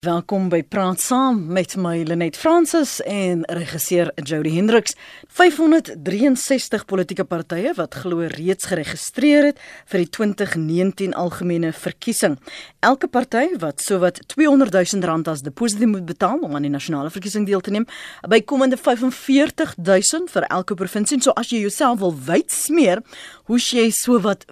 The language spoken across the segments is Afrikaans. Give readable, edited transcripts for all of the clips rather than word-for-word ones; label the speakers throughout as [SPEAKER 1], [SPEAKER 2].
[SPEAKER 1] Welkom by Praat Saam met my Lenet Francis en regisseur Jody Hendricks. 563 politieke partye wat glo reeds geregistreer het vir die 2019 algemene verkiesing. Elke party wat sowat R200 000 as deposito moet betaal om aan die nasionale verkiesing deel te neem, bykomende 45 000 vir elke provinsie. So as jy jouself wil wyd smeer, hoes jy sowat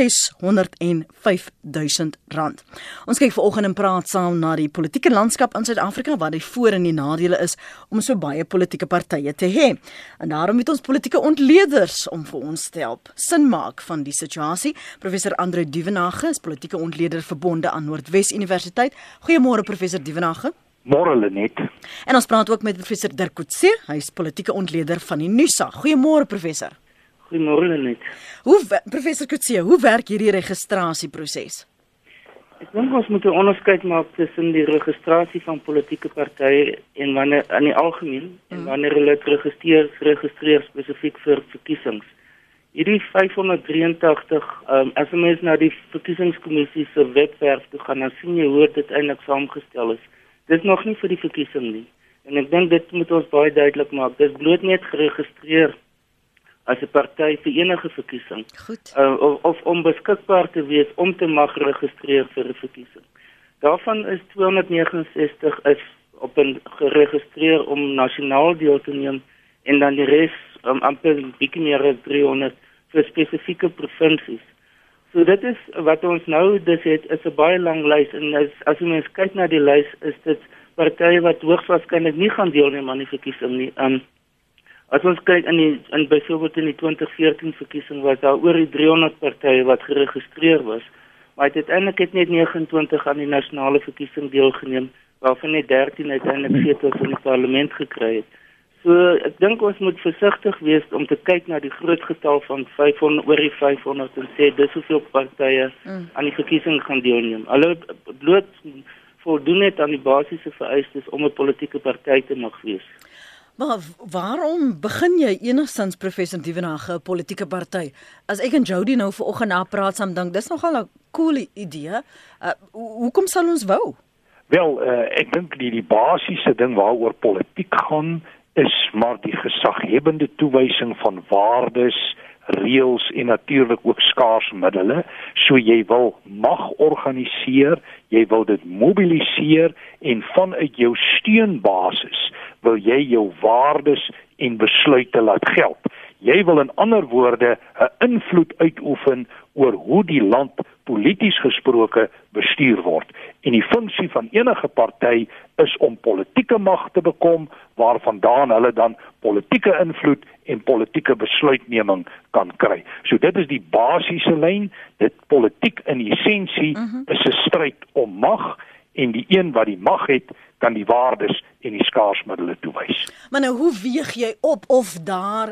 [SPEAKER 1] R605 000. Ons kyk vanoggend en praat saam na die politieke landskap in Suid-Afrika, wat die voor- en die nadele is om so baie politieke partye te hê. En daarom het ons politieke ontleeders om vir ons te help sin maak van die situasie. Professor Andreu Duvenhage is politieke ontleder verbonde aan Noordwes Universiteit. Goeiemôre Professor Duvenhage.
[SPEAKER 2] Môre Lenet.
[SPEAKER 1] En ons praat ook met Professor Dirk Coetzee, hy is politieke ontleder van die NUSA. Goeiemôre Professor.
[SPEAKER 3] Goeiemôre Lenet.
[SPEAKER 1] Professor Coetzee, hoe werk hierdie registrasieproses?
[SPEAKER 3] Ek dink ons moet 'n onderskeid maak tussen die registrasie van politieke partye en wanneer in die algemeen en wanneer hulle registreer spesifiek vir verkiesings. Hierdie 583 as 'n mens na die verkiesingskommissie se webwerf toe gaan, dan sien jy hoe dit eintlik saamgestel is. Dit is nog nie vir die verkiesing nie. En ek dink dit moet ons baie duidelik maak. Dit is bloot net geregistreer as 'n party vir enige verkiesing.
[SPEAKER 1] Goed.
[SPEAKER 3] Of om beskikbaar te wees om te mag registreer vir 'n verkiesing. Daarvan is 269 is geregistreer om nasionaal deel te neem en dan die res amper bietjie meer as 300 vir spesifieke provinsies. So dit is wat ons nou is 'n baie lang lys en as jy mens kyk na die lys, is dit partye wat hoogstwaarskynlik nie gaan deelneem aan die verkiesing nie. As ons kyk byvoorbeeld in die 2014 verkiesing was daar oor die 300 partye wat geregistreer was, maar uiteindelik het net 29 aan die nasionale verkiesing deelgeneem, waarvan net 13 uiteindelik setels in die parlement gekry het. So ek dink ons moet versigtig wees om te kyk na die groot getal van 500 oor die 500 en sê dis hoeveel partye aan die verkiesing gaan deelneem. Hulle bloot voldoen net aan die basiese vereistes om 'n politieke party te mag wees.
[SPEAKER 1] Maar waarom begin jy enigstens Professor Duvenhage 'n politieke party? As ek en Jody nou vanoggend na praat saam dink, dis nogal 'n cool idee. Hoekom sal ons wou?
[SPEAKER 2] Wel, ek dink die basiese ding waaroor politiek gaan is maar die gesaghebende toewysing van waardes, reëls en natuurlik ook skaars middele. So jy wil mag organiseer, jy wil dit mobiliseer en vanuit jou steunbasis wil jy jou waardes en besluite laat geld. Jy wil in ander woorde 'n invloed uitoefen oor hoe die land polities gesproke bestuur word. En die funksie van enige party is om politieke mag te bekom, waarvandaan hulle dan politieke invloed en politieke besluitneming kan kry. So dit is die basiese lyn. Dit politiek in essensie is 'n stryd om mag, en die een wat die mag het, kan die waardes en die skaarsmiddele toewys.
[SPEAKER 1] Maar nou, hoe weeg jy op of daar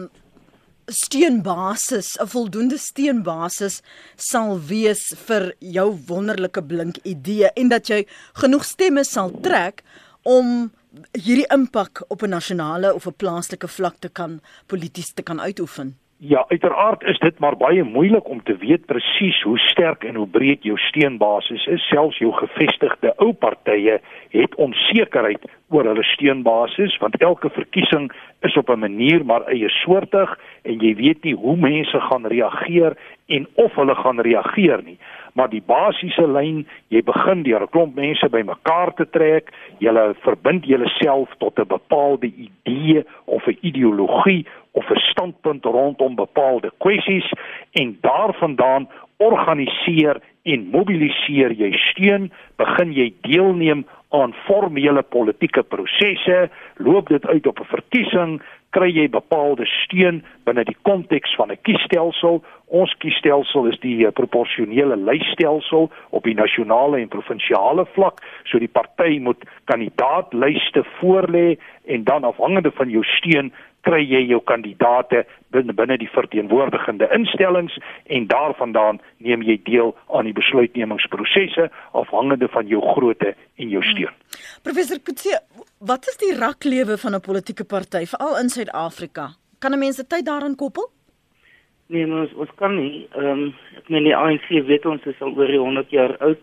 [SPEAKER 1] steunbasis, 'n voldoende steunbasis sal wees vir jou wonderlike blink idee en dat jy genoeg stemme sal trek om hierdie impak op 'n nasionale of 'n plaaslike vlak polities te kan uitoefen?
[SPEAKER 2] Ja, uiteraard is dit maar baie moeilik om te weet presies hoe sterk en hoe breed jou steunbasis is. Selfs jou gevestigde ou partye het onsekerheid oor hulle steunbasis, want elke verkiesing is op 'n manier maar eie soortig en jy weet nie hoe mense gaan reageer en of hulle gaan reageer nie. Maar die basiese lyn, jy begin deur 'n klomp mense bymekaar te trek, jy verbind jouself tot 'n bepaalde idee of 'n ideologie of 'n standpunt rondom bepaalde kwessies en daarvandaan organiseer en mobiliseer jy steun, begin jy deelneem aan formele politieke prosesse, loop dit uit op 'n verkiesing, kry jy bepaalde steun binne die konteks van 'n kiesstelsel. Ons kiesstelsel is die proporsionele lysstelsel op die nasionale en provinsiale vlak, so die party moet kandidaatlyste voorlê en dan afhangende van jou steun kry jy jou kandidaate binne die verteenwoordigende instellings en daarvandaan neem jy deel aan die besluitnemingsprosesse afhangende van jou grootte en jou steun.
[SPEAKER 1] Professor Coetzee, wat is die raklewe van 'n politieke party, veral in Suid-Afrika? Kan 'n mens die tyd daaraan koppel?
[SPEAKER 3] Nee, maar ons kan nie. Ek meen die ANC weet ons is al oor die 100 jaar oud.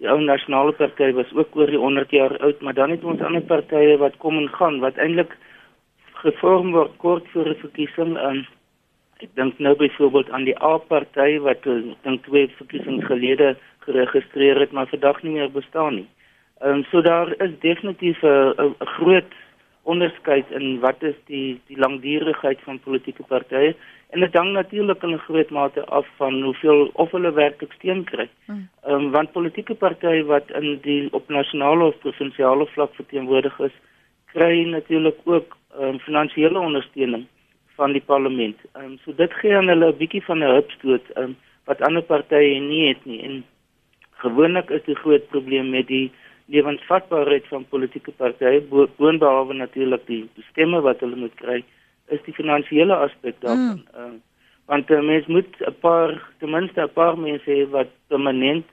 [SPEAKER 3] Die ou nasionale party was ook oor die 100 jaar oud, maar dan het ons ander partye wat kom en gaan, wat eintlik gevorm word kort voor 'n verkiesing. Ek dink nou byvoorbeeld aan die A-party wat ek dink 2 verkiesings gelede geregistreer het, maar vandag nie meer bestaan nie. So daar is definitief 'n groot onderskeid in wat is die langdurigheid van politieke partye, en dit hang natuurlik in 'n groot mate af van hoeveel of hulle werklik steun kry. Want politieke partye wat op nasionale of provinsiale vlak verteenwoordig is, kry natuurlik ook finansiële ondersteuning van die parlement. So dit gee aan hulle 'n bietjie van 'n hupstoot wat ander partye nie het nie. En gewoonlik is die groot probleem met die lewensvatbaarheid van politieke partye, boonbehalwe natuurlik die stemme wat hulle moet kry, is die finansiële aspek daarvan. Want mens moet ten minste 'n paar mense hê wat permanent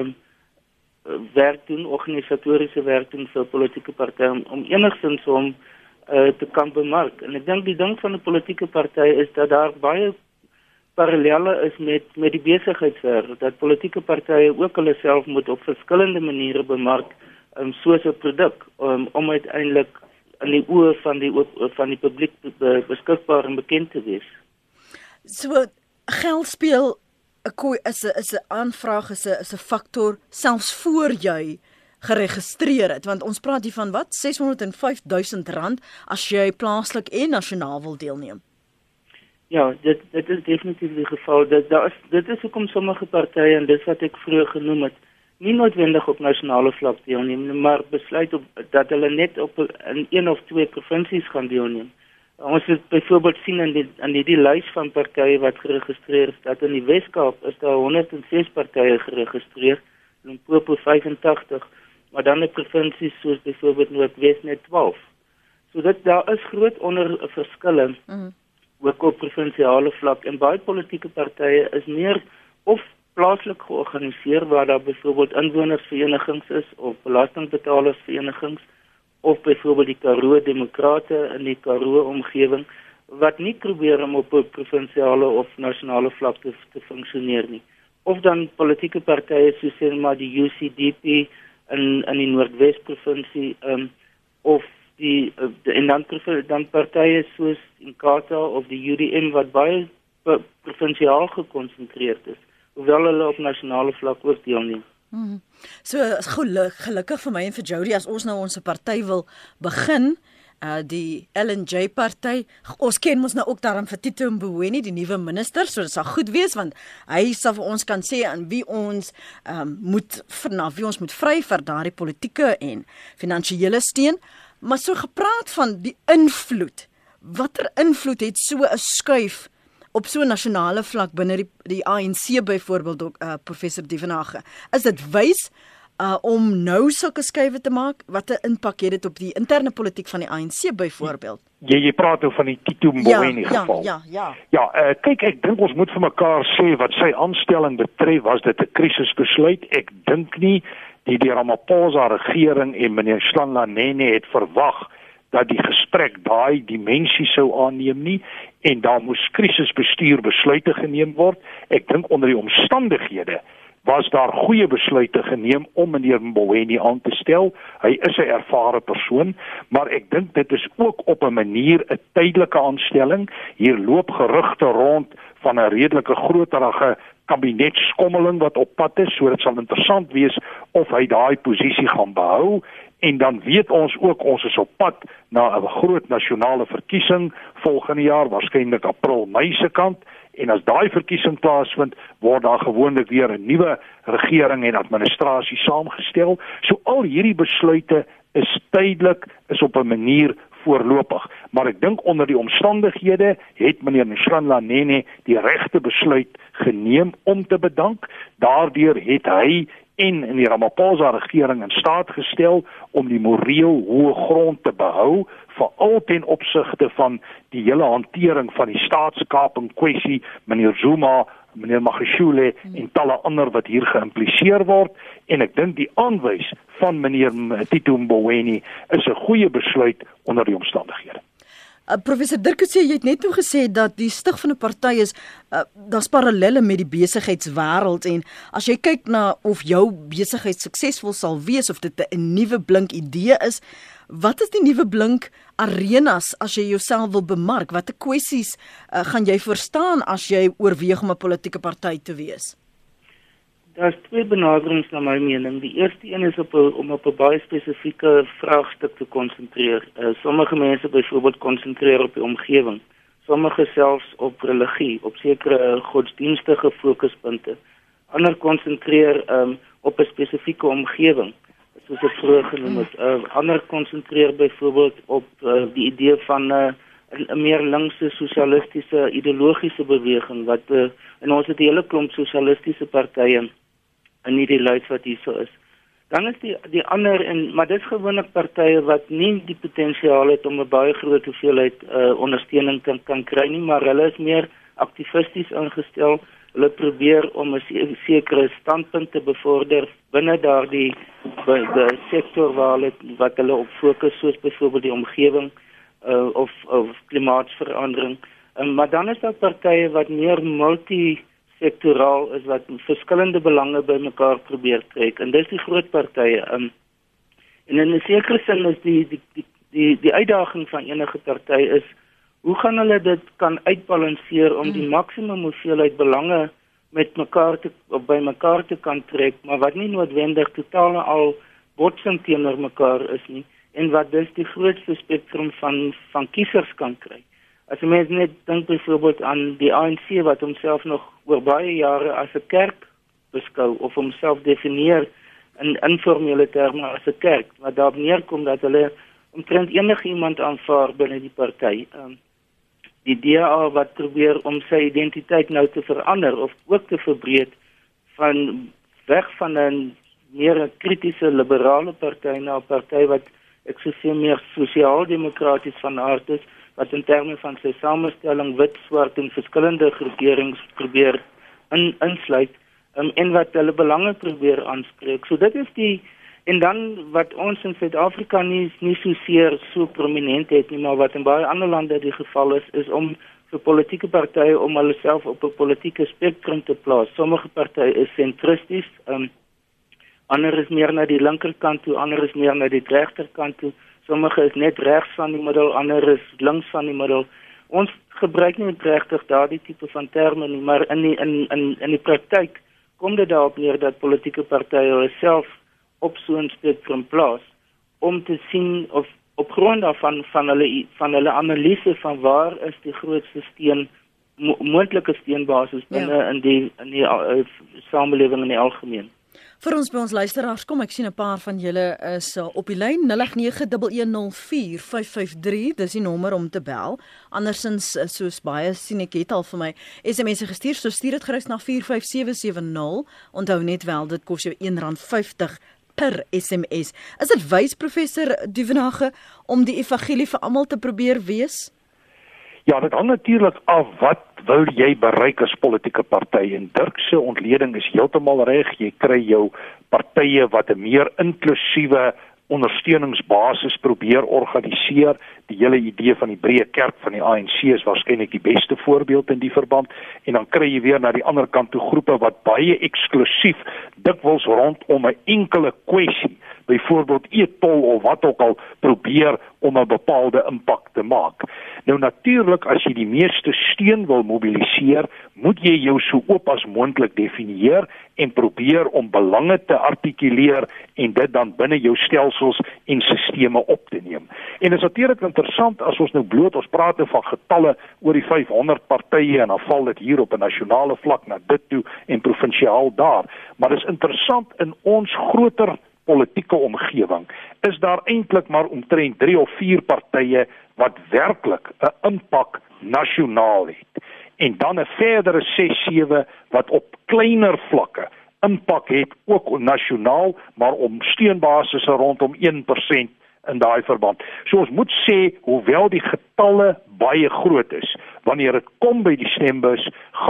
[SPEAKER 3] werk doen, organisatoriese werk doen vir politieke partye, om enigstens om te kan bemark. En ek dink die ding van 'n politieke party is dat daar baie parallelle is met die besigheidswêreld, dat politieke partye ook hulle self moet op verskillende maniere bemark, soos 'n produk, om uiteindelik in die oë van die publiek beskikbaar en bekend te wees.
[SPEAKER 1] So geld speel 'n aanvraag is 'n faktor selfs voor jy geregistreer het, want ons praat hier van wat, R605,000 as jy plaaslik en nasionaal wil deelneem.
[SPEAKER 3] Ja, dit is definitief die geval. Dit is hoekom sommige partye, en dis wat ek vroeër genoem het, nie noodwendig op nasionale vlak deelneem, maar besluit dat hulle net in 1 of 2 provinsies gaan deelneem. Ons het byvoorbeeld sien in die lys van partye wat geregistreer is, dat in die Wes-Kaap is daar 106 partye geregistreer, Limpopo 85, maar dan in provinsies soos byvoorbeeld Noordwes net 12. So daar is groot verskille, ook op provinsiale vlak, en baie politieke partye is meer of plaaslik georganiseer, waar daar byvoorbeeld inwonersverenigings is, of belastingbetalersverenigings, of byvoorbeeld die Karoo Demokrate in die Karoo omgewing, wat nie probeer om op 'n provinsiale of nasionale vlak te funksioneer nie. Of dan politieke partye soos sê maar die UCDP in die Noordwes provinsie, of dan partye soos Inkatha of die UDM wat baie provinsiaal gekonsentreerd is, hoewel hulle op nasionale vlak ook deelneem.
[SPEAKER 1] So gelukkig vir my en vir Jody, as ons nou ons party wil begin, die LNJ party, ons ken ons nou ook daarom vir Tito Mboweni, die nuwe minister, so dit sal goed wees, want hy sal vir ons kan sê aan wie ons moet vry vir daardie politieke en finansiële steun. Maar so gepraat van die invloed, watter invloed het so 'n skuif op so 'n nasionale vlak binne die ANC byvoorbeeld, professor Dievenage? Is dit wys om nou sulke skuiwe te maak? Wat 'n impak het dit op die interne politiek van die ANC byvoorbeeld?
[SPEAKER 2] Jy praat oor van die Tito Mboweni geval. Ja, kyk, ek dink ons moet vir mekaar sê wat sy aanstelling betref, was dit 'n krisisbesluit. Ek dink nie die Ramaphosa regering en meneer Nhlanhla het verwag dat die gesprek daai dimensie sou aanneem nie, en daar moes krisisbestuur besluite geneem word. Ek dink onder die omstandighede was daar goeie besluite geneem om meneer Mboweni aan te stel. Hy is 'n ervare persoon, maar ek dink dit is ook op 'n manier 'n tydelike aanstelling. Hier loop gerugte rond van 'n redelike groterige kabinetskommeling wat op pad is, so dit sal interessant wees of hy daai posisie gaan behou. En dan weet ons ook, ons is op pad na 'n groot nasionale verkiesing volgende jaar, waarskynlik April, Mei se kant. En as daai verkiesing plaasvind, word daar gewoonlik weer 'n nuwe regering en administrasie saamgestel. So al hierdie besluite is tydelik, is op 'n manier voorlopig. Maar ek dink onder die omstandighede het meneer Nhlanhla die regte besluit geneem om te bedank. Daardeur het hy en die Ramaphosa regering in staat gestel om die moreel hoë grond te behou, veral ten opsigte van die hele hantering van die staatskaping kwessie, meneer Zuma, meneer Magashule en talle ander wat hier geïmpliseer word. En ek dink die aanwys van meneer Tito Mboweni is 'n goeie besluit onder die omstandighede.
[SPEAKER 1] Professor Dirk sê, jy het net toe gesê dat die stig van 'n party is, daar's parallelle met die besigheidswêreld, en as jy kyk na of jou besigheid suksesvol sal wees, of dit 'n nuwe blink idee is, wat is die nuwe blink arenas as jy jouself wil bemark? Watter kwessies gaan jy verstaan as jy oorweeg om 'n politieke party te wees?
[SPEAKER 3] Daar's twee benaderings na my mening. Die eerste een is om op 'n baie spesifieke vraagstuk te konsentreer. Sommige mense byvoorbeeld konsentreer op die omgewing. Sommige selfs op religie, op sekere godsdienstige fokuspunte. Ander konsentreer op 'n spesifieke omgewing, soos ek vroeër genoem het. Ander konsentreer byvoorbeeld op die idee van 'n meer linkse sosialistiese ideologiese beweging en ons het 'n hele klomp sosialistiese partye in hierdie lys wat hierso is. Dan is die ander, maar dis gewoonlik partye wat nie die potensiaal het om 'n baie groot hoeveelheid ondersteuning kan kry nie, maar hulle is meer aktivisties ingestel. Hulle probeer om 'n sekere standpunt te bevorder binne daardie sektor wat hulle op fokus, soos byvoorbeeld die omgewing of klimaatsverandering. Maar dan is daar partye wat meer multi-sektoraal is, wat verskillende belange bymekaar probeer trek, en dis die groot partye. En in 'n sekere sin is die uitdaging van enige party is, hoe gaan hulle dit kan uitbalanseer om die maksimum hoeveelheid belange by mekaar te kan trek, maar wat nie noodwendig totaal al botsing teenoor mekaar is nie, en wat dus die grootste spektrum van kiesers kan kry. As jy mens net dink byvoorbeeld aan die ANC, wat homself nog oor baie jare as 'n kerk beskou, of homself definieer in informele terme as 'n kerk, wat daarop neerkom dat hulle omtrent enige iemand aanvaar binne die party. Die DA wat probeer om sy identiteit nou te verander of ook te verbreed weg van 'n meer kritiese liberale party na 'n party wat ek sou sê meer sosiaal-demokraties van aard is, wat in terme van sy samestelling wit, swart en verskillende groeperings probeer insluit, en wat hulle belange probeer aanspreek. So dit is en dan wat ons in Suid-Afrika nie so prominent het nie, maar wat in baie ander lande die geval is om vir politieke partye om hulle self op 'n politieke spektrum te plaas. Sommige partye is sentristies, ander is meer na die linkerkant toe, ander is meer na die regterkant toe. Sommige is net regs van die middel, ander is links van die middel. Ons gebruik nie regtig daardie tipe van terme nie, maar in die praktyk kom dit daarop neer dat politieke partye hulle self op so 'n spektrum plaas om te sien of op grond daarvan van hulle analise van waar is die grootste moontlike steunbasis binne in die samelewing in die algemeen.
[SPEAKER 1] Vir ons by ons luisteraars, kom ek sien 'n paar van julle is op die lyn. 0891104553, dis die nommer om te bel. Andersins, soos baie sien ek het al vir my SMS'e gestuur, so stuur dit gerus na 45770. Onthou net wel, dit kos jou R1.50 per SMS. Is dit wys, Professor Duvenage, om die evangelie vir almal te probeer wees?
[SPEAKER 2] Ja, dit hang natuurlik af wat wou jy bereik as politieke party, en Dirk se ontleding is heeltemal reg. Jy kry jou partye wat 'n meer inklusiewe ondersteuningsbasis probeer organiseer. Die hele idee van die breë kerk van die ANC is waarskynlik die beste voorbeeld in die verband, en dan kry jy weer na die ander kant toe groepe wat baie eksklusief dikwels rondom 'n enkele kwessie, byvoorbeeld e-tol of wat ook al, probeer om 'n bepaalde impak te maak. Nou natuurlik, as jy die meeste steun wil mobiliseer, moet jy jou so oop as moontlik definieer en probeer om belange te artikuleer en dit dan binne jou stelsels en sisteme op te neem. En dit is natuurlik interessant as ons nou bloot, ons praat nou van getalle oor die 500 partye en dan val dit hier op 'n nasionale vlak na dit toe en provinsiaal daar. Maar dit is interessant, in ons groter politieke omgewing is daar eintlik maar omtrent 3 of 4 partye wat werklik 'n impak nasionaal het. En dan 'n verdere 6-7 wat op kleiner vlakke impak het, ook nasionaal, maar om steunbasisse rondom 1% in daai verband. So ons moet sê, hoewel die getalle baie groot is, wanneer dit kom by die stembus, gaan dit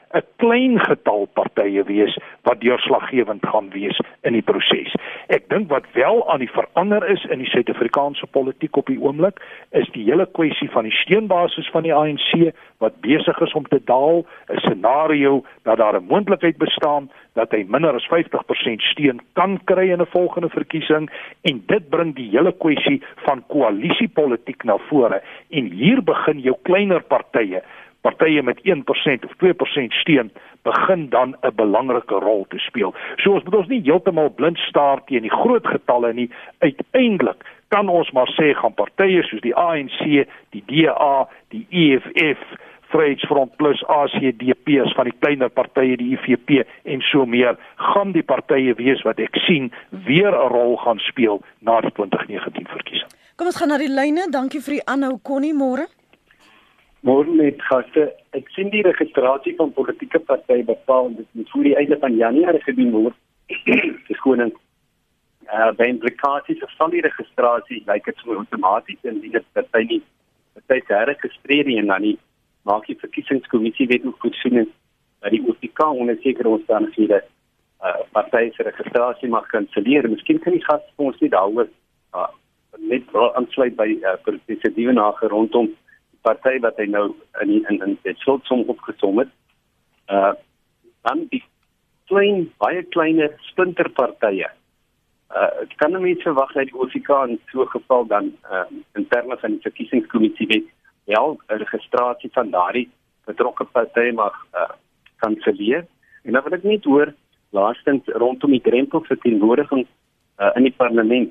[SPEAKER 2] 'n klein getal partye wees wat deurslaggewend gaan wees in die proses. Ek dink wat wel aan die verander is in die Suid-Afrikaanse politiek op die oomblik, is die hele kwessie van die steunbasis van die ANC wat besig is om te daal, 'n scenario dat daar 'n moontlikheid bestaan dat hy minder as 50% steun kan kry in 'n volgende verkiesing, en dit bring die hele kwessie van koalisiepolitiek na vore, en hier begin jou kleiner partye met 1% of 2% steun, begin dan 'n belangrike rol te speel. So ons moet ons nie heeltemal blind staar teen die groot getalle nie. Uiteindelik kan ons maar sê, gaan partye soos die ANC, die DA, die EFF, Vryheidsfront Plus, ACDP as van die kleiner partye, die IFP en so meer, gaan die partye wees wat ek sien weer 'n rol gaan speel na die 2019 verkiesing.
[SPEAKER 1] Kom ons gaan na die lyne. Dankie vir die aanhou, Connie, môre.
[SPEAKER 4] Môre met gaste. Ek sien die registrasie van politieke partye bepaal dit moet voor die einde van Januarie gedoen word. Verskoning. By implikasies van die registrasie lyk dit so outomaties en die party nie party herregistreer nie en dan nie maak die verkiesingskommissie weet hoe goed sien dat die OVK onder sekere omstandighede partye se registrasie mag kanselleer. Miskien kan die gas vir ons nie daaroor net aansluit by professor Dievenage rondom party wat hy nou in die slotsom opgesom het. Dan die baie kleiner splinterpartye. Kan 'n mens verwag dat die OVK in so 'n geval dan in terme van die verkiesingskommissie weet wel 'n registrasie van daardie betrokke partye mag kanselleer. En dan wil ek net hoor laastens rondom die drempelverteenwoordiging in die parlement.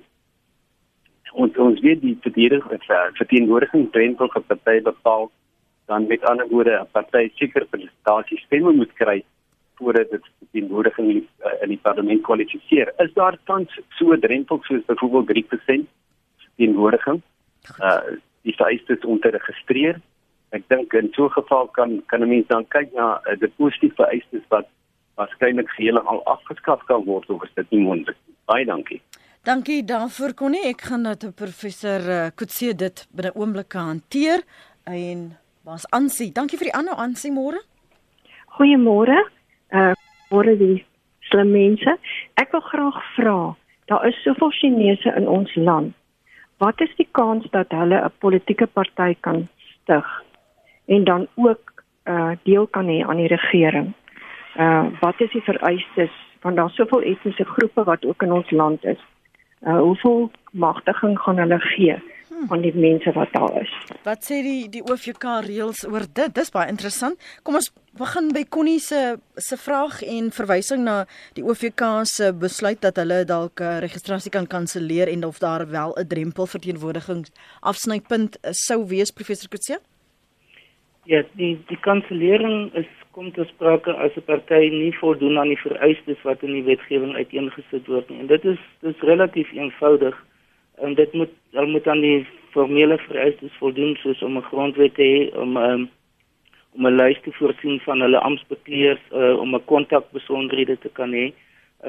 [SPEAKER 4] Ons weet die verteenwoordiging drempel vir partye bepaal, dan met ander woorde 'n party seker presentasie stemme moet kry voordat dit verteenwoordiging in die parlement kwalifiseer. Is daar tans so 'n drempel soos byvoorbeeld 3% verteenwoordiging? Die vereistes om te registreer. Ek dink in so 'n geval kan 'n mens dan kyk na die positiewe vereistes wat waarskynlik geheel al afgeskaf kan word, of is dit nie moontlik? Baie dankie.
[SPEAKER 1] Dankie daarvoor, Connie. Ek gaan dat professor Coetzee dit binne oomblikke hanteer. En was Ansie. Dankie vir die aanhou, Ansie, môre.
[SPEAKER 5] Goeiemôre. Môre die slim mense. Ek wil graag vra, daar is soveel Chinese in ons land. Wat is die kans dat hulle 'n politieke party kan stig en dan ook deel kan hê aan die regering? Wat is die vereistes? Want daar soveel etniese groepe wat ook in ons land is. Hoeveel magtiging gaan hulle gee aan die mense wat daar is?
[SPEAKER 1] Wat sê die OVK reëls oor dit? Dis baie interessant. Kom ons begin by Connie se vraag en verwysing na die OVK se besluit dat hulle dalk registrasie kan kanselleer en of daar wel 'n drempel verteenwoordiging afsnypunt sou wees, professor Coetzee?
[SPEAKER 3] Ja, die kansellering kom te sprake as 'n party nie voldoen aan die vereistes wat in die wetgewing uiteengesit word nie. En dit is relatief eenvoudig. En dit moet aan die formele vereistes voldoen, soos om 'n grondwet te hê, om 'n lys te voorsien van hulle amptbekleers, om 'n kontakbesonderhede te kan hê.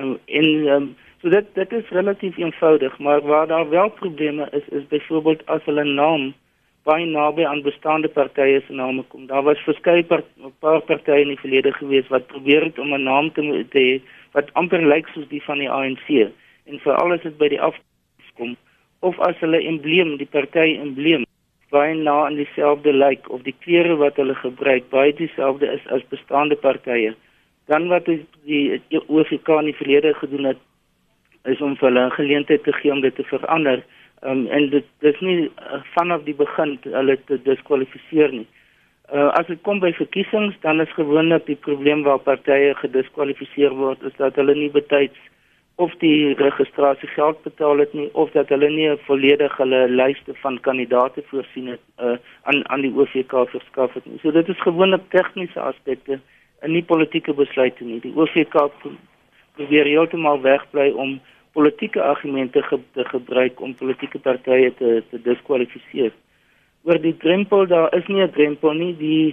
[SPEAKER 3] So dit is relatief eenvoudig, maar waar daar wel probleme is byvoorbeeld as hulle naam baie naby aan bestaande partye se name kom. Daar was verskeie paar partye in die verlede gewees wat probeer het om 'n naam te hê wat amper lyk soos die van die ANC. En veral as dit by die afkom, of as hulle embleem, die party embleem, baie na aan dieselfde lyk, of die klere wat hulle gebruik baie dieselfde is as bestaande partye. Dan wat die OVK in die verlede gedoen het, is om vir hulle 'n geleentheid te gee om dit te verander. En dit is nie vanaf die begin hulle te diskwalifiseer nie. As dit kom by verkiesings, dan is gewoonlik die probleem waar partye gediskwalifiseer word, is dat hulle nie betyds of die registrasie geld betaal het nie, of dat hulle nie 'n volledige lyste van kandidaate voorsien het, aan die OVK verskaf het nie. So dit is gewoonlik tegniese aspekte en nie politieke besluite nie. Die OVK probeer heeltemal wegbly om politieke argumente te gebruik om politieke partye te diskwalifiseer. Oor die drempel, daar is nie 'n drempel nie.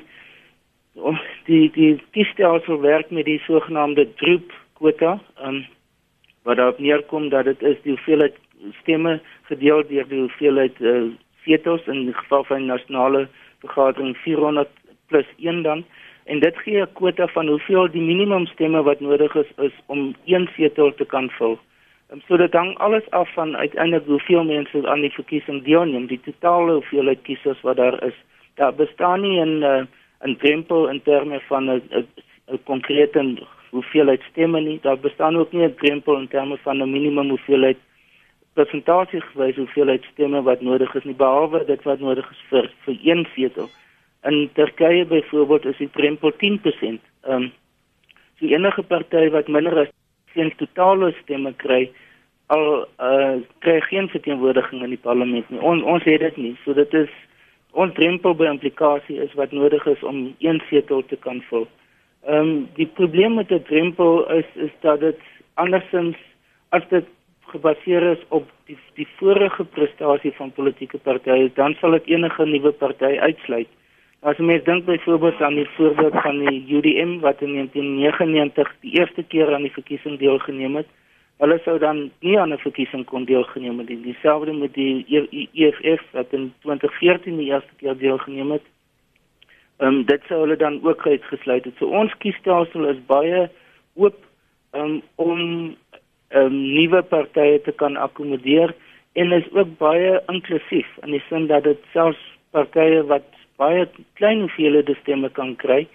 [SPEAKER 3] Die kiesstelsel werk met die sogenaamde droop-kwota, wat daarop neerkom dat dit is die hoeveelheid stemme gedeel deur die hoeveelheid setels, in die geval van die nasionale vergadering 400 plus 1 dan. En dit gee 'n kwota van hoeveel die minimumstemme wat nodig is om 1 setel te kan vul. So dit hang alles af van uiteindelik hoeveel mense aan die verkiesing deelneem, die totale hoeveelheid kiesers wat daar is. Daar bestaan nie 'n drempel in terme van 'n konkrete hoeveelheid stemme nie. Daar bestaan ook nie 'n drempel in terme van 'n minimum hoeveelheid persentasiegewys hoeveelheid stemme wat nodig is nie, behalwe dit wat nodig is vir 1 setel. In Turkye byvoorbeeld is die drempel 10%. So enige party wat minder as 10 totale stemme kry, kry geen verteenwoordiging in die parlement nie. Ons het dit nie. So dit is ons drempel by implikasie is wat nodig is om 1 setel te kan vul. Die probleem met 'n drempel is dat dit andersins as dit gebaseer is op die vorige prestasie van politieke partye, dan sal dit enige nuwe party uitsluit. As mens dink byvoorbeeld aan die voorbeeld van die UDM wat in 1999 die eerste keer aan die verkiesing deelgeneem het, hulle sou dan nie aan 'n verkiesing kon deelgeneem het. Dieselfde met die EFF wat in 2014 die eerste keer deelgeneem het. Dit sou hulle dan ook uitgesluit het. So ons kiesstelsel is baie oop om nuwe partye te kan akkommodeer en is ook baie inklusief in die sin dat dit selfs partye wat baie klein hoeveelhede stemme kan kry,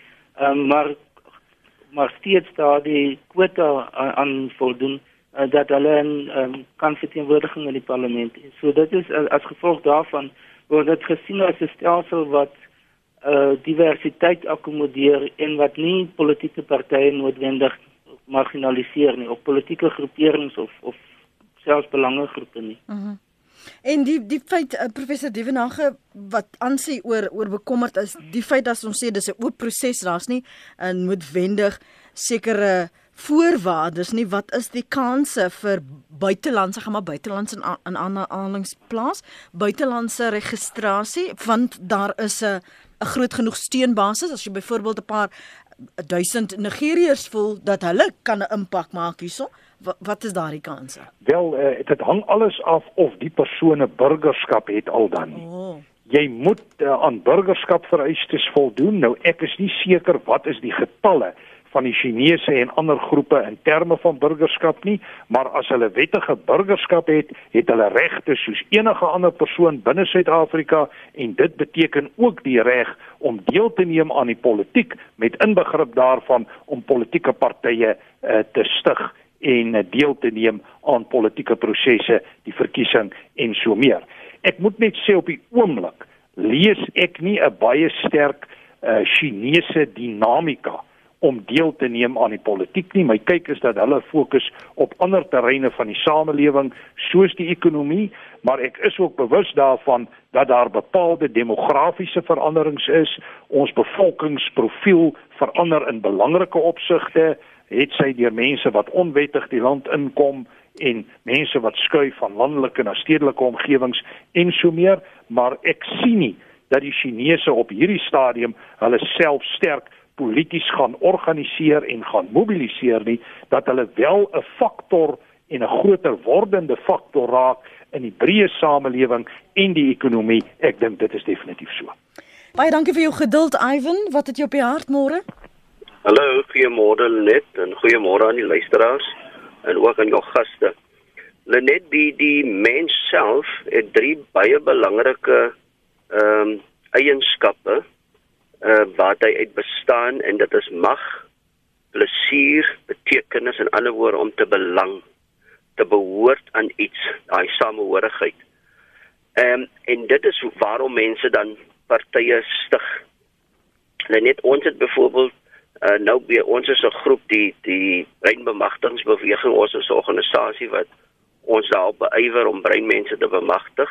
[SPEAKER 3] maar steeds daar die kwota aan voldoen dat hulle kan verteenwoordiging in die parlement. So dit is as gevolg daarvan word dit gesien as 'n stelsel wat diversiteit akkommodeer en wat nie politieke partye noodwendig marginaliseer nie, of politieke groeperings of selfs belangegroepe nie.
[SPEAKER 1] En die feit, professor Dievenage, wat aansê oor bekommerd is, die feit dat ons sê dis 'n oop proses, daar's nie noodwendig sekere voorwaardes nie, wat is die kanse vir buitelandse, gaan maar buitelandse in aanhalingsplaas, buitelandse registrasie, want daar is 'n groot genoeg steunbasis, as jy byvoorbeeld 'n paar 1000 Nigeriërs voel dat hulle kan 'n impak maak hierso, wat is daardie kanse?
[SPEAKER 2] Wel, dit hang alles af of die persoon 'n burgerskap het al dan nie. Jy moet aan burgerskap vereistes voldoen. Nou ek is nie seker wat is die getalle van die Chinese en ander groepe in terme van burgerskap nie, maar as hulle wettige burgerskap het hulle regte soos enige ander persoon binne Suid-Afrika, en dit beteken ook die reg om deel te neem aan die politiek, met inbegrip daarvan om politieke partye te stig en deel te neem aan politieke prosesse, die verkiesing en so meer. Ek moet net sê op die oomblik lees ek nie 'n baie sterk Chinese dinamika om deel te neem aan die politiek nie. My kyk is dat hulle fokus op ander terreine van die samelewing, soos die ekonomie, maar ek is ook bewus daarvan dat daar bepaalde demografiese veranderings is. Ons bevolkingsprofiel verander in belangrike opsigte, het sy deur mense wat onwettig die land inkom en mense wat skuif van landelike na stedelike omgewings en so meer, maar ek sien nie dat die Chinese op hierdie stadium hulle self sterk polities gaan organiseer en gaan mobiliseer nie, dat hulle wel 'n faktor en 'n groter wordende faktor raak in die breë samelewing en die ekonomie. Ek dink dit is definitief so.
[SPEAKER 1] Baie dankie vir jou geduld, Ivan. Wat het jy op die hart môre?
[SPEAKER 6] Hallo, goeiemôre Lenet en goeiemôre aan die luisteraars en ook aan jou gaste. Lenet, die mens self het 3 baie belangrike eienskappe wat hy uit bestaan, en dit is mag, plesier, betekenis, en ander woorde om te belang, te behoort aan iets, daai samehorigheid. En dit is waarom mense dan partye stig. Net ons het byvoorbeeld ons is 'n groep, die breinbemagtigingsbeweging, ons is 'n organisasie wat ons daarop beywer om breinmense te bemagtig.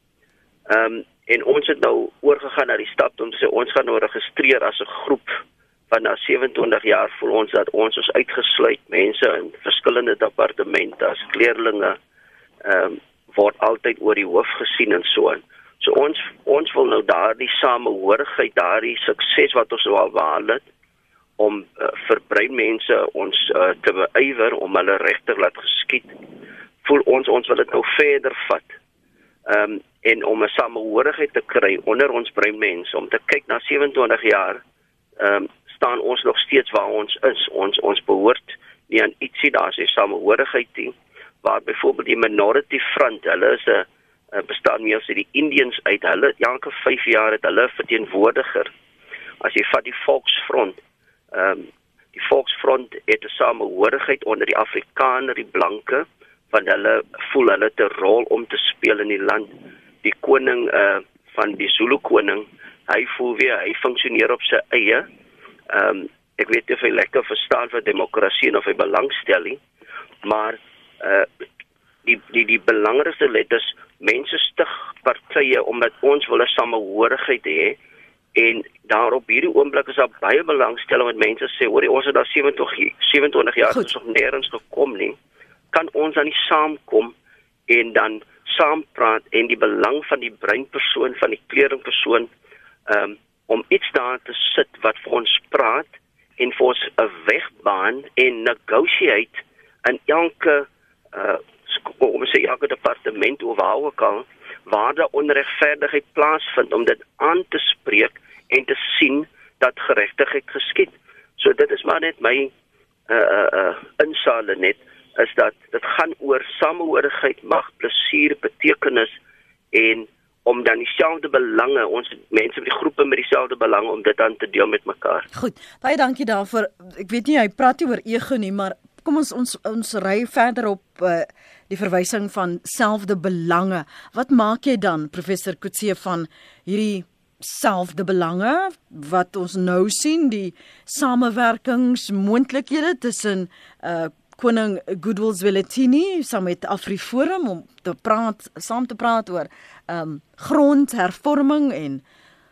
[SPEAKER 6] En ons het nou oorgegaan na die stap om te sê, ons gaan nou registreer as 'n groep, want na 27 jaar voel ons dat ons is uitgesluit, mense in verskillende departemente as kleerlinge word altyd oor die hoof gesien en so aan. So ons wil nou daardie samehorigheid, daardie sukses wat ons nou al behaal het, om vir breinmense ons te beywer om hulle regtig laat geskied, voel ons wil dit nou verder vat. En om 'n samehorigheid te kry onder ons breinmense, om te kyk na 27 jaar, staan ons nog steeds waar ons is. Ons behoort nie aan ietsie, daar is nie samehorigheid nie, waar byvoorbeeld die Minority Front, hulle is 'n bestaan meer as die Indians uit, hulle elke 5 jaar het hulle verteenwoordiger. As jy vat die Volksfront, die Volksfront het 'n samehorigheid onder die Afrikaner, die blanke, want hulle voel hulle het 'n rol om te speel in die land. Die koning van die Zulu koning, hy voel weer, hy funksioneer op sy eie. Ek weet nie of hy lekker verstaan vir demokrasie en of hy belangstel nie, maar die belangrikste letters, mense stig partye omdat ons wil 'n samehorigheid hê, en daar op hierdie oomblik is daar baie belangstelling met mense sê, hoor, ons het daar 27 jaar is nog nêrens gekom nie, kan ons dan nie saamkom en dan saampraat en die belang van die breinpersoon, van die kleringpersoon, om iets daar te sit wat vir ons praat en vir ons 'n weg baan en negotiate in elke elke departement of waar ook al, waar daar onregverdigheid plaasvind, om dit aan te spreek en te sien dat geregtigheid geskied. So dit is maar net my insale net, is dat dit gaan oor samehorigheid, mag, plesier, betekenis, en om dan dieselfde belange, ons mense met die groepe met dieselfde belange, om dit aan te deel met mekaar.
[SPEAKER 1] Goed, baie dankie daarvoor. Ek weet nie, hy praat nie oor ego nie, maar kom ons ry verder op die verwysing van selfde belange. Wat maak jy dan, professor Coetzee, van hierdie selfde belange wat ons nou sien, die samewerkingsmoontlikhede tussen koning Goodwill Zwelithini saam met AfriForum om saam te praat oor grondhervorming, en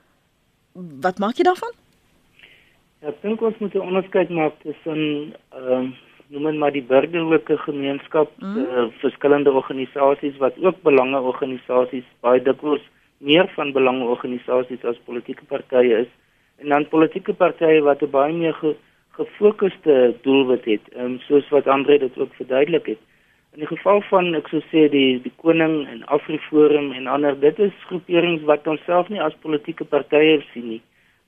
[SPEAKER 1] wat maak jy daarvan?
[SPEAKER 3] Ja, ek dink ons moet 'n onderskeid maak tussen noem dit maar die burgerlike gemeenskap, verskillende organisasies wat ook belangeorganisasies, baie dikwels meer van belangeorganisasies as politieke partye is, en dan politieke partye wat 'n baie meer gefokuste doelwit het, soos wat André dit ook verduidelik het. In die geval van, ek sou sê, die koning en AfriForum en ander, dit is groeperings wat ons self nie as politieke partye sien nie.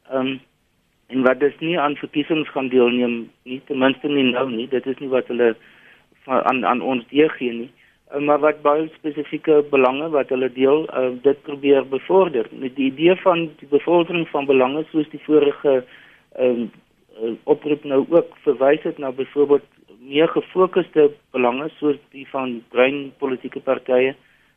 [SPEAKER 3] En wat dus nie aan verkiesings gaan deelneem nie, ten minste nie nou nie, dit is nie wat hulle aan ons deurgee nie, maar wat baie spesifieke belange wat hulle deel, dit probeer bevorder. Met die idee van die bevordering van belange, soos die vorige oproep nou ook verwys het na byvoorbeeld meer gefokuste belange, soos die van bruin politieke partye,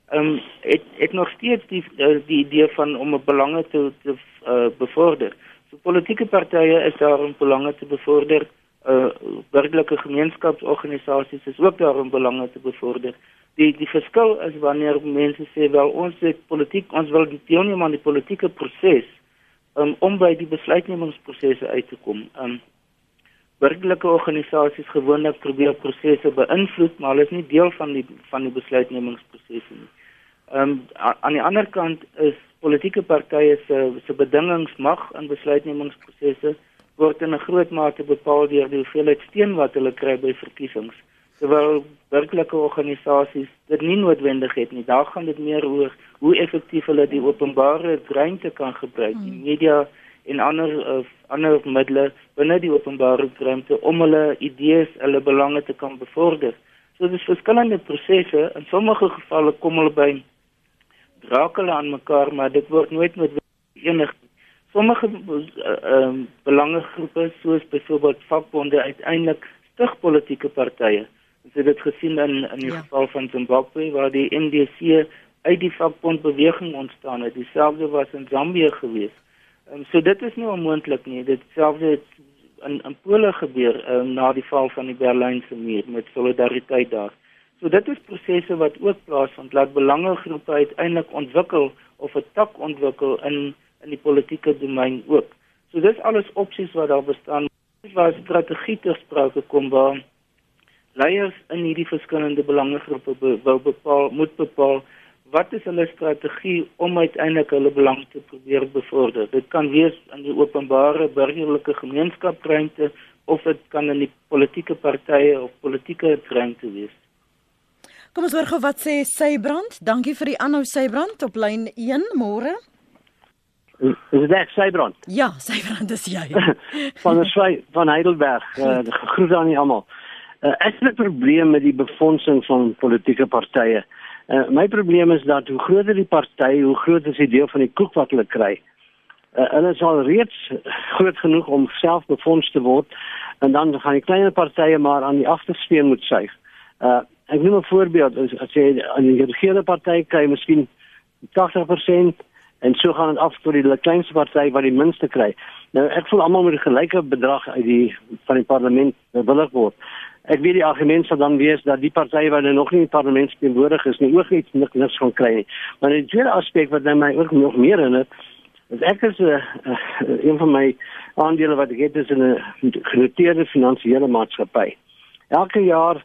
[SPEAKER 3] het nog steeds die idee van om belange te bevorder. Politieke partye is daar om belange te bevorder, burgerlike gemeenskapsorganisasies is ook daar om belange te bevorder. Die verskil is wanneer mense sê, wel, ons wil deelneem aan die politieke proses, om by die besluitnemingsprosesse uit te kom. Burgerlike organisasies gewoonlik probeer prosesse beïnvloed, maar hulle is nie deel van die besluitnemingsprosesse nie. Aan die ander kant is politieke partye se bedingingsmag in besluitnemingsprosesse word in 'n groot mate bepaal deur die hoeveelheid steun wat hulle kry by verkiesings, terwyl burgerlike organisasies dit nie noodwendig het nie. Daar gaan dit meer oor hoe effektief hulle die openbare ruimte kan gebruik, die media en ander middele binne die openbare ruimte om hulle idees, hulle belange te kan bevorder. So dis verskillende prosesse, in sommige gevalle kom hulle by raak hulle aan mekaar, maar dit word nooit met enig. Sommige belangegroepe, soos byvoorbeeld vakbonde, uiteindelik stig politieke partye. Ons het dit gesien in die geval van Zimbabwe, waar die NDC uit die vakbondbeweging ontstaan het. Dieselfde was in Zambië gewees. So dit is nie onmoontlik nie. Ditselfde het in Pole gebeur na die val van die Berlynse muur met solidariteit daar. So dit is prosesse wat ook plaasvind, laat belangegroepe uiteindelik ontwikkel of 'n tak ontwikkel in die politieke domein ook. So dis alles opsies wat daar bestaan, waar strategie ter sprake kom, waar leiers in hierdie verskillende belangegroepe moet bepaal wat is hulle strategie om uiteindelik hulle belang te probeer bevorder. Dit kan wees in die openbare burgerlike gemeenskapruimte, of dit kan in die politieke partye of politieke ruimte wees.
[SPEAKER 1] Kom ons hoor gou wat sê Sybrand. Dankie vir die aanhou, Sybrand, op lyn 1, môre.
[SPEAKER 7] Is dit ek, Sybrand?
[SPEAKER 1] Ja, Sybrand is jy.
[SPEAKER 7] van Heidelberg, groet aan julle almal. Ek het 'n probleem met die befondsing van politieke partye. My probleem is dat hoe groter die party, hoe groter is die deel van die koek wat hulle kry. Hulle is al reeds groot genoeg om self befonds te word, en dan gaan die kleiner partye maar aan die agterspeen moet suig. Ek noem 'n voorbeeld, as jy aan die regerende party kry miskien 80%, en so gaan dit af tot die kleinste party wat die minste kry. Nou ek voel almal moet 'n gelyke bedrag van die parlement bewillig word. Ek weet die argument sal dan wees dat die partye wat nog nie in die parlement teenwoordig is nie ook niks gaan kry nie. Maar die tweede aspek wat my ook nog meer in het, is ek is een van my aandele wat ek het is in 'n genoteerde finansiële maatskappy. Elke jaar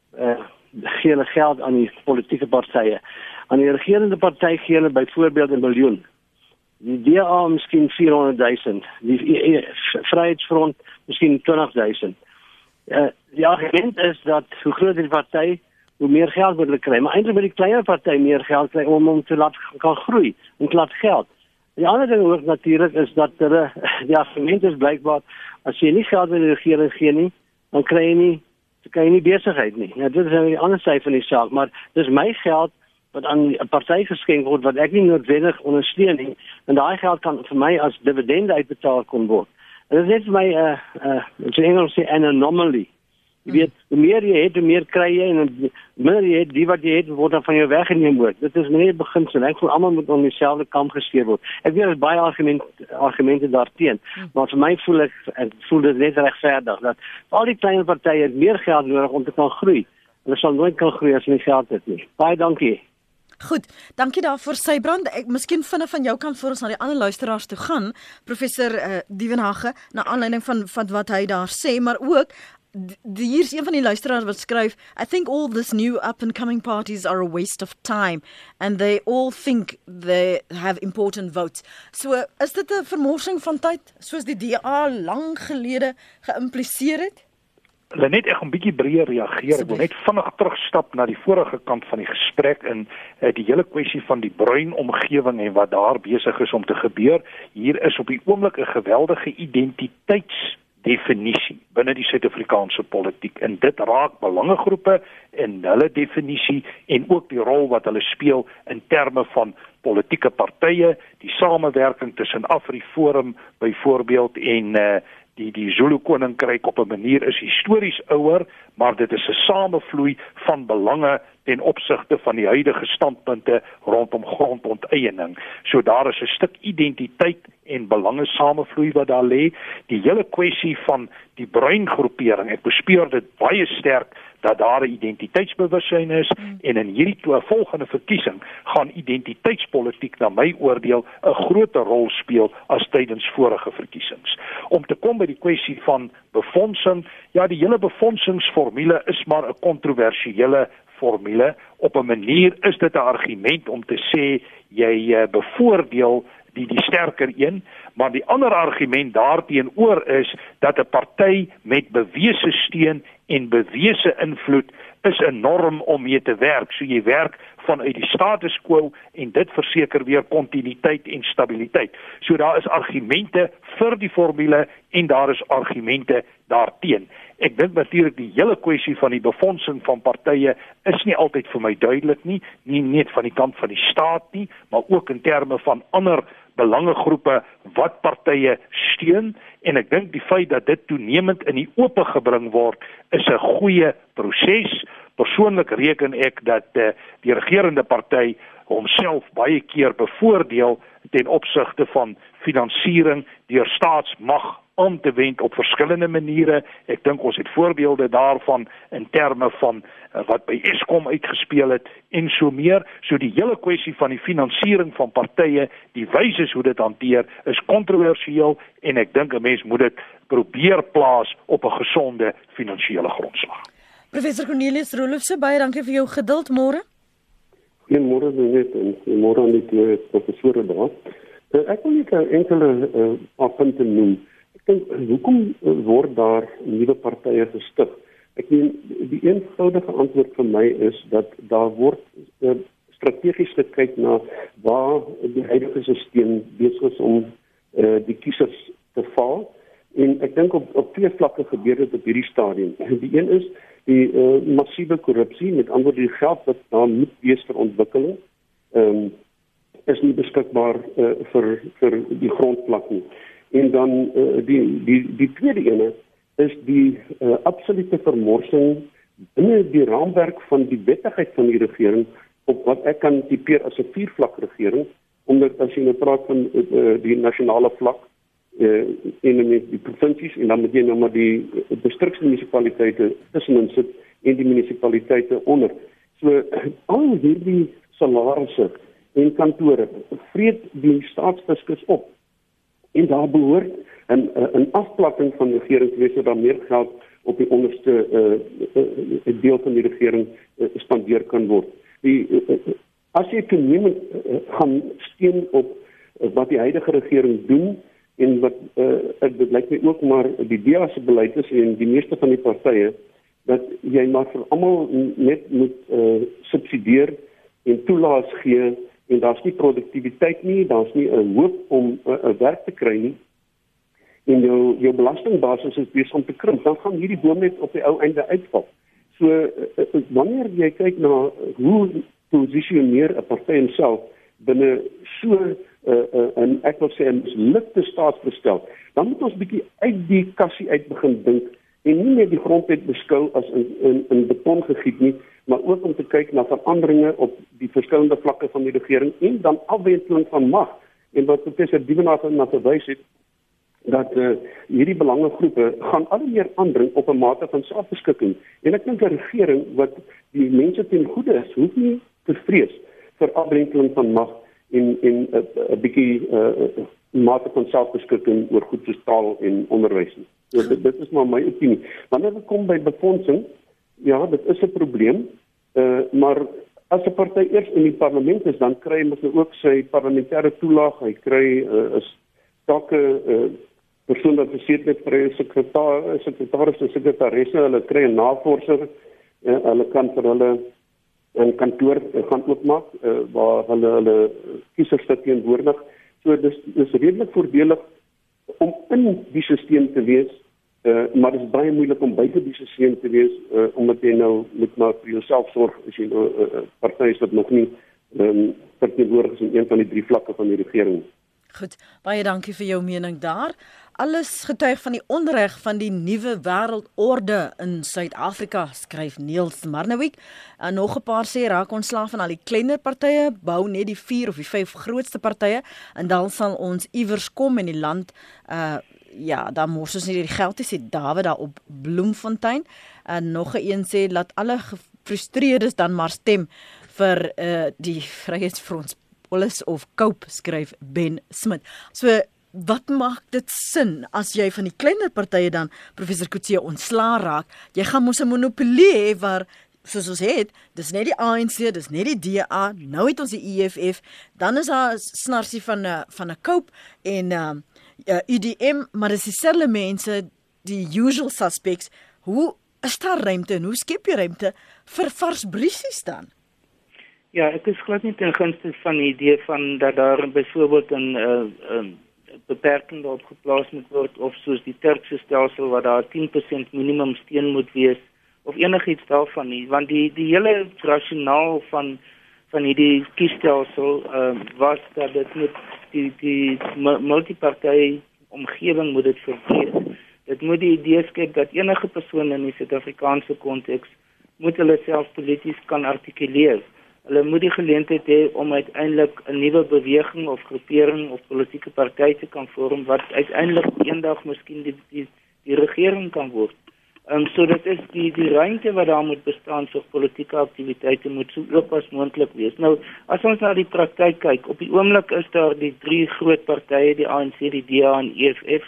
[SPEAKER 7] gee hulle geld aan die politieke partye. Aan die regerende party gee hulle byvoorbeeld 1 miljoen. Die DA miskien 400.000. Die Vryheidsfront miskien 20.000. Die argument is dat hoe groter die party, hoe meer geld moet hulle kry. Maar eintlik moet die kleiner party meer geld kry om te laat kan groei en te laat geld. Die ander ding ook natuurlik is dat die argument is blykbaar, as jy nie geld aan die regering gee nie, dan kry jy nie besigheid nie. Ja, dit is nou die ander sy van die saak, maar dis my geld wat aan 'n party geskenk word wat ek nie noodwendig ondersteun nie, en daai geld kan vir my as dividende uitbetaal kon word. En dit is net vir my in Engels sê an anomaly. Jy weet, hoe meer jy het, hoe meer kry jy, en hoe minder jy het, die wat jy het, word dan van jou weggeneem word. Dit is net 'n beginsel. Ek voel almal moet om dieselfde kam geskeer word. Ek weet daar is baie argumente daarteen, maar vir my voel dit net regverdig dat al die klein partye het meer geld nodig om te kan groei. Hulle sal nooit kan groei as hulle nie geld het nie. Baie dankie.
[SPEAKER 1] Goed, dankie daarvoor Sybrand. Ek miskien vinnig van jou kant voor ons na die ander luisteraars toe gaan, professor Dievenage, na aanleiding van wat hy daar sê, maar ook hier is een van die luisteraars wat skryf, I think all this new up and coming parties are a waste of time and they all think they have important votes. So is dit 'n vermorsing van tyd soos die DA lank gelede geïmpliseer het?
[SPEAKER 2] Net ek 'n bietjie breër reageer. Ek wil net vinnig terugstap na die vorige kant van die gesprek in die hele kwessie van die bruin omgewing en wat daar besig is om te gebeur. Hier is op die oomblik 'n geweldige identiteitsdefinisie binne die Suid-Afrikaanse politiek, en dit raak belangegroepe en hulle definisie en ook die rol wat hulle speel in terme van politieke partye, die samewerking tussen AfriForum byvoorbeeld en die Zulu koninkryk op 'n manier is histories ouer, maar dit is 'n samevloei van belange ten opsigte van die huidige standpunte rondom grondonteiening. So daar is 'n stuk identiteit en belange samevloei wat daar lê. Die hele kwessie van die bruin groepering, ek bespeur dit baie sterk dat daar 'n identiteitsbewussyn is, en in hierdie volgende verkiesing gaan identiteitspolitiek na my oordeel 'n groter rol speel as tydens vorige verkiesings. Om te kom by die kwessie van befondsing, ja, die hele befondsingsformule is maar 'n kontroversiële formule. Op 'n manier is dit 'n argument om te sê jy bevoordeel die sterker een, maar die ander argument daarteenoor is dat 'n party met bewese steun en bewese invloed is 'n norm om mee te werk. So jy werk vanuit die status quo en dit verseker weer kontinuïteit en stabiliteit. So daar is argumente vir die formule en daar is argumente daarteen. Ek dink natuurlik die hele kwessie van die befondsing van partye is nie altyd vir my duidelik nie net van die kant van die staat nie, maar ook in terme van ander belangegroepe wat partye steun, en ek dink die feit dat dit toenemend in die oop gebring word is 'n goeie proses. Persoonlik reken ek dat die regerende party homself baie keer bevoordeel ten opsigte van finansiering deur staatsmag aan te wend op verskillende maniere. Ek dink ons het voorbeelde daarvan in terme van wat by Eskom uitgespeel het en so meer. So die hele kwessie van die finansiering van partye, die wyse hoe dit hanteer, is kontroversieel, en ek dink 'n mens moet dit probeer plaas op 'n gesonde finansiële grondslag.
[SPEAKER 1] Professor Cornelius Roelofse, baie dankie vir jou geduld môre.
[SPEAKER 8] Goeiemôre net en môre aan die twee professore daar. Ek wil net enkele punte noem. Ek dink hoekom word daar nuwe partye gestig? Ek meen die eenvoudige antwoord vir my is dat daar word strategies gekyk na waar die huidige stelsel besig is om die kiesers te val. En ek dink op twee vlakke gebeur dit op hierdie stadium. Die een is die massiewe korrupsie, met ander woorde die geld wat daar moet wees vir ontwikkeling, is nie beskikbaar vir die grondvlak nie. En dan die tweede ene is die absolute vermorsing binne die raamwerk van die wettigheid van die regering op wat ek kan tipeer as 'n viervlak regering, omdat as jy nou praat van die nasionale vlak en die provinsies en dan moet jy nou maar die distriksmunisipaliteite tussenin sit en die munisipaliteite onder. So al hierdie salarisse en kantore vreet die staatsfiskus op. En daar behoort 'n afplatting van die regering te wees sodat meer geld op die onderste deel van die regering spandeer kan word. As jy toenemend gaan steun op wat die huidige regering doen en wat dit lyk my ook maar die DA se beleid is en die meeste van die partye dat jy maar vir almal net moet subsidieer en toelaas gee en daar's nie produktiwiteit nie, daar's nie 'n hoop om 'n werk te kry nie. En jou belastingbasis is besig om te krimp, dan gaan hierdie boom net op die ou einde uitval. So wanneer jy kyk na hoe posisioneer 'n party homself binne so 'n ek wil sê 'n mislukte staatsbestel, dan moet ons bietjie uit die kassie uit begin dink en nie net die grondwet beskou as in beton gegiet nie, maar ook om te kyk na veranderinge op die verskillende vlakke van die regering en dan afwenteling van mag. En wat professor Dievenaar na verwys het, dat hierdie belangegroepe gaan al meer aandring op 'n mate van selfbeskikking. En ek dink 'n regering wat die mense ten goeie is, hoef nie te vrees vir afwenteling van mag en 'n bietjie mate van selfbeskikking oor goed soos taal en onderwys. So dit is maar my opinie. Wanneer dit kom by befondsing, ja, dit is 'n probleem, maar as 'n party eers in die parlement is, dan kry hy mos ook sy parlementêre toelaag, hy kry 'n stakke persoon wat besit met vir sekretaris en sekretaresse, hulle kry 'n navorser, hulle kan vir hulle 'n kantoor gaan oopmaak waar hulle kiesers verteenwoordig. So dis redelik voordelig om in die stelsel te wees, maar dit is baie moeilik om buite die stelsel te wees, omdat jy nou moet maar vir jouself sorg as jy nou partye is wat nog nie verteenwoordig is in een van die drie vlakke van die regering.
[SPEAKER 1] Goed, baie dankie vir jou mening daar. Alles getuig van die onreg van die nuwe wêreldorde in Suid-Afrika, skryf Niels Marnewijk. En nog 'n paar sê raak ontslaaf van al die kleiner partye, bou net die 4 of die 5 grootste partye en dan sal ons iewers kom in die land. Ja, dan mors ons nie die geld nie, sê David daar op Bloemfontein. En nog 'n een sê laat alle gefrustreerdes dan maar stem vir die Vryheidsfront Polis of Cope, skryf Ben Smit. So wat maak dit sin as jy van die kleiner partye dan professor Kutse ontslaa raak? Jy gaan mos 'n monopolie hê waar soos ons het, dis net die ANC, dis net die DA, nou het ons die EFF, dan is daar snarsie van 'n Cope en UDM, maar dis dieselfde mense, die usual suspects. Hoe is daar ruimte en hoe skep jy ruimte vir vars briesies dan?
[SPEAKER 3] Ja, ek is glad nie ten gunste van die idee van dat daar byvoorbeeld 'n beperking daarop geplaas moet word, of soos die Turkse stelsel waar daar 10% minimum steun moet wees, of enigiets daarvan nie, want die hele rasionaal van hierdie kiesstelsel was dat dit moet die multiparty omgewing moet dit verbreek. Dit moet die idee skep dat enige persoon in die Suid-Afrikaanse konteks moet hulle self polities kan artikuleer. Hulle moet die geleentheid hê om uiteindelik 'n nuwe beweging of groepering of politieke party te kan vorm wat uiteindelik eendag miskien die regering kan word. So dit is die ruimte wat daar moet bestaan vir politieke aktiwiteite moet so oop as moontlik wees. Nou, as ons na die praktyk kyk, op die oomblik is daar die 3 groot partye, die ANC, die DA en EFF,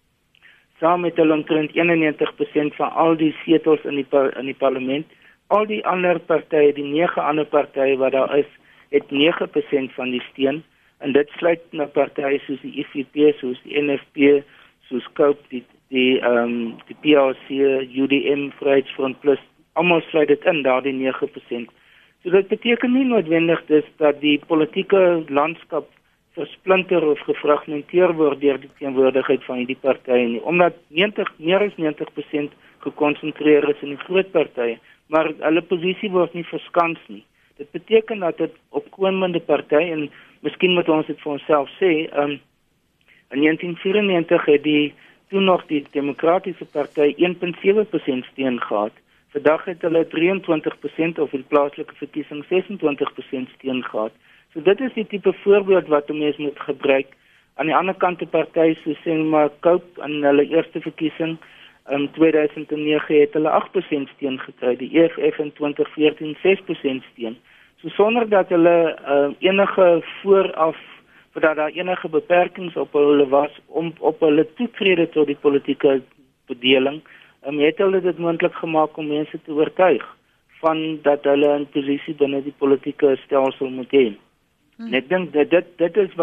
[SPEAKER 3] saam met hulle omtrent 91% van al die setels in die parlement. Al die ander partye, die 9 ander partye wat daar is, het 9% van die steun, en dit sluit na partye soos die IFP, soos die NFP, soos Cope, die PRC, UDM, Vryheidsfront Plus, almal sluit dit in, daar die 9%. So dit beteken nie noodwendig dat die politieke landskap versplinter of gefragmenteer word deur die teenwoordigheid van hierdie partye nie, omdat meer as 90% gekonsentreer is in die groot partye, maar hulle posisie word nie verskans nie. Dit beteken dat dit opkomende partye, en miskien moet ons dit vir onsself sê, in 1994 het toen nog die Demokratiese Party 1,7% steun gehad. Vandag het hulle 23% of in plaaslike verkiesing 26% steun gehad. So dit is die tipe voorbeeld wat 'n mens moet gebruik. Aan die ander kant 'n party so sê maar Cope in hulle eerste verkiesing in 2009 het hulle 8% steun gekry, die EFF in 2014 6% steun. So sonder dat hulle enige vooraf dat daar enige beperkings op hulle was om op hulle toetrede tot die politieke bedeling, het hulle dit moontlik gemaak om mense te oortuig van dat hulle 'n posisie binne die politieke stelsel moet hê. En ek dink dit is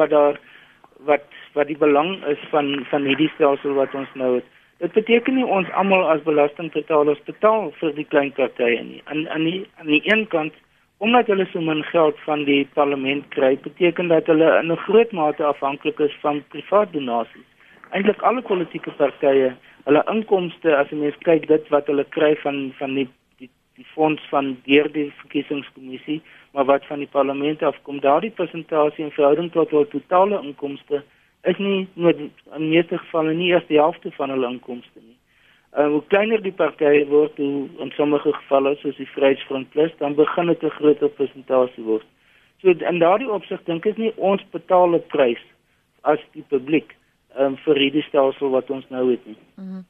[SPEAKER 3] wat die belang is van hierdie stelsel wat ons nou het. Dit beteken nie ons almal as belastingbetalers betaal vir die klein partye nie. Aan die een kant, omdat hulle so min geld van die parlement kry, beteken dat hulle in 'n groot mate afhanklik is van privaat donasies. Eintlik alle politieke partye, hulle inkomste, as jy mens kyk dit wat hulle kry van die fonds van deur die verkiesingskommissie, maar wat van die parlement afkom, daardie persentasie in verhouding tot hul totale inkomste is nie in meeste gevalle nie eers die helfte van hulle inkomste nie. Hoe kleiner die partye word, hoe in sommige gevalle soos die Vryheidsfront Plus, dan begin dit 'n groter persentasie word. So in daardie opsig dink ek nie ons betaal 'n prys as die publiek vir hierdie stelsel wat ons nou het nie.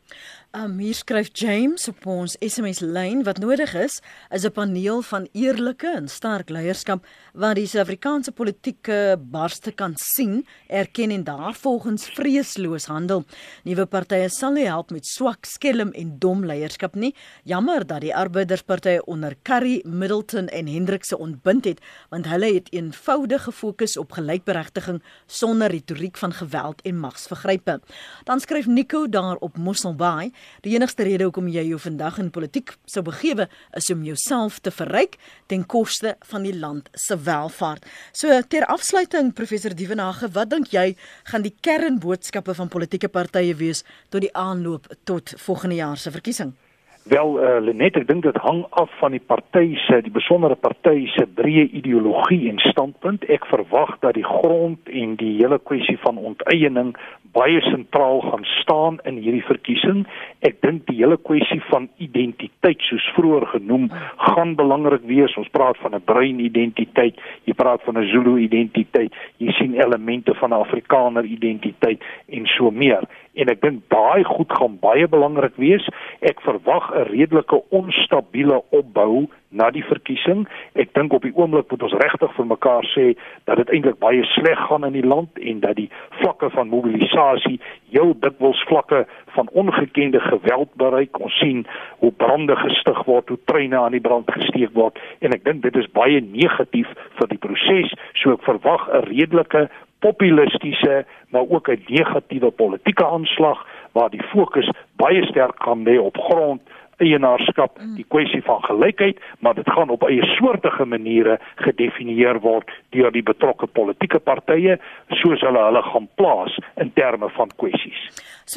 [SPEAKER 1] Hier skryf James op ons SMS-lyn, wat nodig is 'n paneel van eerlike en sterk leierskap wat die Suid-Afrikaanse politieke barste kan sien, erken en daarvolgens vreesloos handel. Nuwe partye sal nie help met swak, skelm en dom leierskap nie. Jammer dat die arbeiderspartye onder Curry, Middleton en Hendrikse ontbind het, want hulle het eenvoudig gefokus op gelykberigtiging sonder retoriek van geweld en magsvergrype. Dan skryf Nico daar op Mosselbaai, die enigste rede hoekom jy jou vandag in politiek sou begewe is om jouself te verryk ten koste van die land se welvaart. So ter afsluiting, professor Dievenage, wat dink jy gaan die kernboodskappe van politieke partye wees tot die aanloop tot volgende jaar se verkiesing?
[SPEAKER 2] Wel, Lenet, ek dink dit hang af van die besondere party se breë ideologie en standpunt. Ek verwag dat die grond en die hele kwessie van onteiening baie sentraal gaan staan in hierdie verkiesing. Ek dink die hele kwessie van identiteit, soos vroeër genoem, gaan belangrik wees. Ons praat van 'n bruin identiteit, jy praat van 'n Zulu identiteit, jy sien elemente van 'n Afrikaner identiteit en so meer. En ek dink daai goed gaan baie belangrik wees. Ek verwag 'n redelike onstabiele opbou na die verkiesing. Ek dink op die oomblik moet ons regtig vir mekaar sê dat dit eintlik baie sleg gaan in die land en dat die vlakke van mobilisasie heel dikwels vlakke van ongekende geweld bereik. Ons sien hoe brande gestig word, hoe treine aan die brand gesteek word en ek dink dit is baie negatief vir die proses. So ek verwag 'n redelike populistiese, maar ook 'n negatiewe politieke aanslag waar die fokus baie sterk gaan lê op grond, eienaarskap, die kwessie van gelykheid, maar dit gaan op eie soortige maniere gedefinieer word deur die betrokke politieke partye, soos hulle gaan plaas in terme van kwessies.
[SPEAKER 1] So,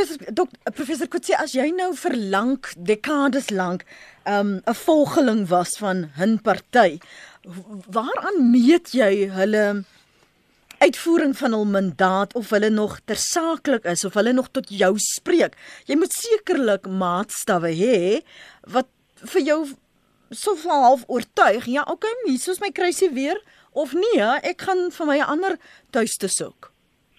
[SPEAKER 1] professor Coetzee, as jy nou vir dekades lank 'n volgeling was van 'n party, waaraan meet jy hulle uitvoering van hul mandaat, of hulle nog tersaaklik is, of hulle nog tot jou spreek? Jy moet sekerlik maatstawwe hê wat vir jou so half oortuig, ja, okay, hier soos my kruisie weer, of nee, ek gaan vir my 'n ander tuiste soek.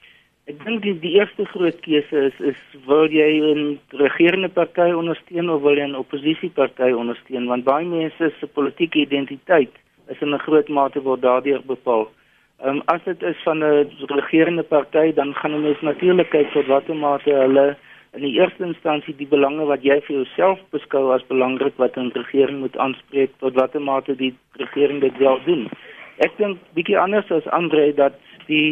[SPEAKER 3] Ek dink die eerste groot keuse is wil jy 'n regerende party ondersteun of wil jy 'n oppositieparty ondersteun, want baie mense se politieke identiteit is in 'n groot mate word daardeur bepaal. As dit is van 'n regerende party, dan gaan 'n mens natuurlik kyk tot watter mate hulle in die eerste instansie die belange wat jy vir jouself beskou as belangrik wat 'n regering moet aanspreek, tot watter mate die regering dit wel doen. Ek dink bietjie anders as Andre dat die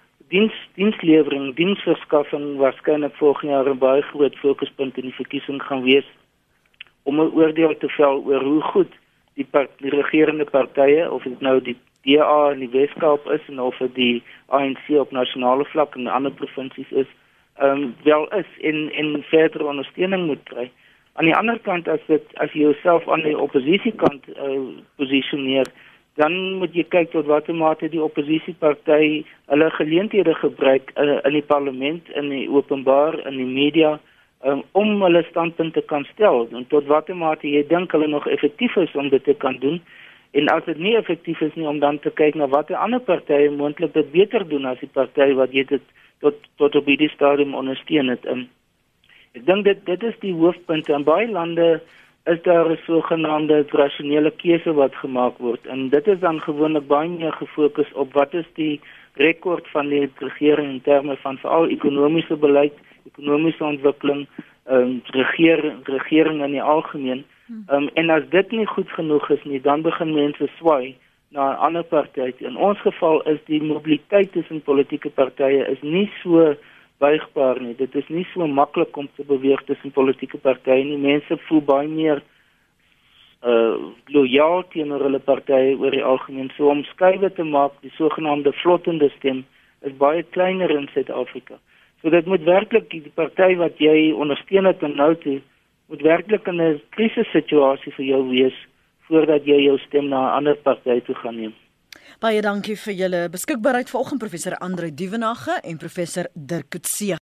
[SPEAKER 3] diensverskaffing waarskynlik volgende jaar 'n baie groot fokuspunt in die verkiesing gaan wees om 'n oordeel te vel oor hoe goed die regerende partye, of dit nou die DA in die Weskaap is en of dit die ANC op nasionale vlak en ander provinsies is, wel is en verdere ondersteuning moet kry. Aan die ander kant, as jy jouself aan die oppositiekant posisioneer, dan moet jy kyk tot watter mate die oppositieparty hulle geleenthede gebruik in die parlement, in die openbaar, in die media, om hulle standpunt te kan stel, en tot watter mate jy dink hulle nog effektief is om dit te kan doen, en as dit nie effektief is nie, om dan te kyk na watter ander partye moontlik dit beter doen as die party wat jy dit tot op hierdie stadium ondersteun het. Ek dink dit is die hoofpunt. In baie lande is daar 'n sogenaamde rasionele keuse wat gemaak word, en dit is dan gewoonlik baie meer gefokus op wat is die rekord van die regering in terme van veral ekonomiese beleid, ekonomiese ontwikkeling, regering in die algemeen. En as dit nie goed genoeg is nie, dan begin mense swaai na 'n ander party. In ons geval is die mobiliteit tussen politieke partye is nie so buigbaar nie. Dit is nie so maklik om te beweeg tussen politieke partye nie. Mense voel baie meer loyaal teenoor hulle partye oor die algemeen. So om skuiwe te maak, die sogenaamde vlottende stem, is baie kleiner in Suid-Afrika. So dit moet werklik die party wat jy ondersteun het en nou toe, moet werklik in 'n krisissituasie vir jou wees, voordat jy jou stem na 'n ander party toe gaan neem.
[SPEAKER 1] Baie dankie vir julle beskikbaarheid vanoggend, professor Andre Duvenage en professor Dirk Coetzee.